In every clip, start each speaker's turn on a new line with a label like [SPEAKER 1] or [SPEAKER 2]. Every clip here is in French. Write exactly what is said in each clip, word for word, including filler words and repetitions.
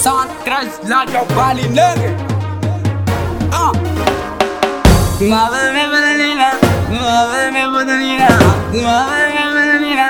[SPEAKER 1] cent treize la Jabali nigga. Ah. Mave me bananina, mave me bananina, mave me bananina,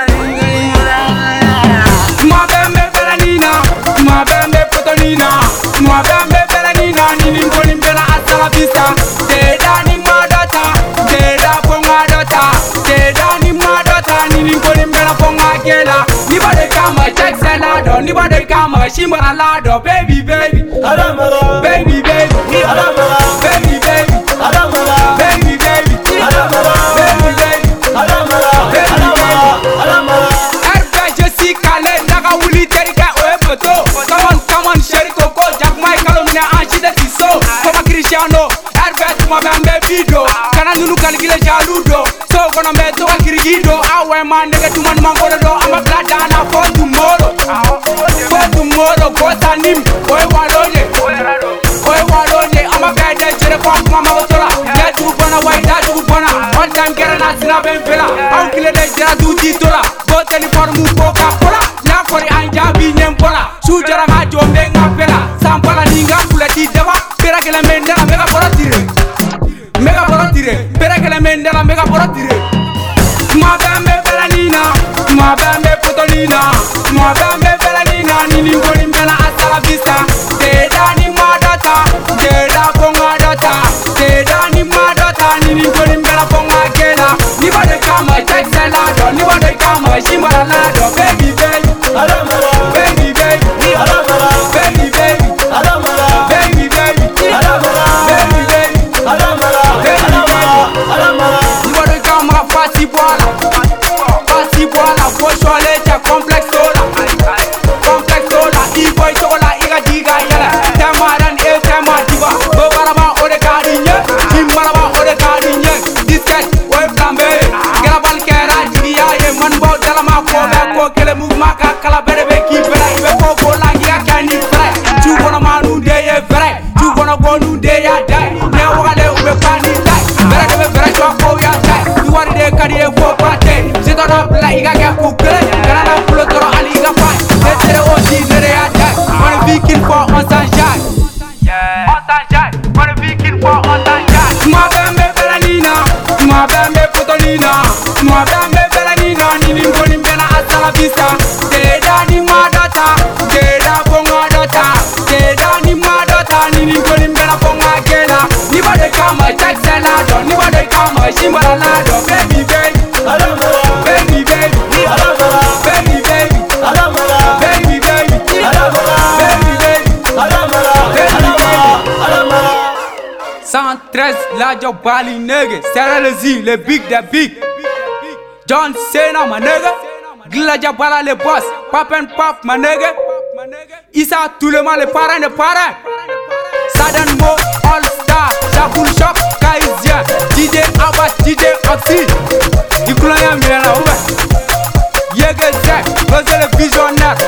[SPEAKER 1] mave me bananina, mave me potonina, mave me bananina, nini ngoli mbela asala vista. Teda ni madota, teda ponga dota, teda ni madota, nini ngoli mbela ponga gela. Ni bade kama check salado, ni bade kama shimba lado, baby baby, adamala, baby baby, adamala, baby baby, adamala, baby baby, adamala, baby baby, adamala, adamala, adamala. Erbe Jesse Kale, naga wuli terika oe moto. Come on, come on, Sherry Coco, Jack Michael, mine anchi de tiso. Koma Cristiano, erbe tuma bambe video. Kana nunu kaligile jaludo. So gonna me to a kirigido. Awe man nigga tuma mangolo do. I'm a black dana for tomorrow. For tomorrow, go tanim. Oe walone, oe walone. I'm a guy that jere kwa kuma magotola. That you gonna wait, that you gonna. All time get an asina ben fela. I'm killing the jera do titola. Go tell for mu coca cola. Na for the anja bi nyempola. Su jera ma jombe nga fela. Sampala ninga kula ti deba. Pera que la mendela mega por tire. Mega por tire. Pera que la mendela mega por tire. Ma bambe belanina, ma bambe potolina, ma bambe belanina, nini ngoli mbela asala vista. Teda ni madota, teda ponga dota, teda ni madota, nini ngoli mbela ponga gela. Ni bade kama check salado, ni bade kama shimba lado, baby baby, adamala, baby baby, adamala, baby baby, adamala, baby baby, adamala, baby baby, adamala, adamala, adamala. Ni bade kama fasi bola. Fasi bola, fosho leche, complex sola, complex sola, e-boy sola, iga diga yala. Tema dan e tema diva, bobaraba ode kadinye, imbaraba ode kadinye. Disket, oe flambe, grabal kera diya ye man bo dalama ko be ko kele mouvement ka kala bere be ki bere ibe ko ko langi ya kani fere. Tu gonna manu de ye fere, tu gonna go nu de ya dai. Ne wale ube pani dai, bere de be fere jo ko ya dai. Tu wari de kadi e fo pate. La iga ke kukle, kana na pulo toro ali iga fai. Etere oji nere ya jai, on a viking for on sanjai. On sanjai, on a viking for on sanjai. Ma bambe belanina, ma bambe potolina, ma bambe belanina, nini ngoli mbela asala vista. Teda ni madota, teda ponga dota, teda ni madota, nini ngoli mbela ponga gela. Ni bade kama check salado, ni bade kama shimba lado, baby baby, adamala. Baby baby, adamala, baby baby, adamala, baby baby, adamala, baby baby, adamala, adamala, adamala. cent treize la Jabali nigga, Sarah le Z, le big the big. John Cena my nigga, Gila Jabala le boss, Pop and Pop my nigga. Issa tout le monde les parents les parents. Sadan Mo All Star, Jacoul Shop, Kaizia, D J Abbas, D J Oxy. Ikula ya mila na uwe Yege Zek, Goze le visionnaire,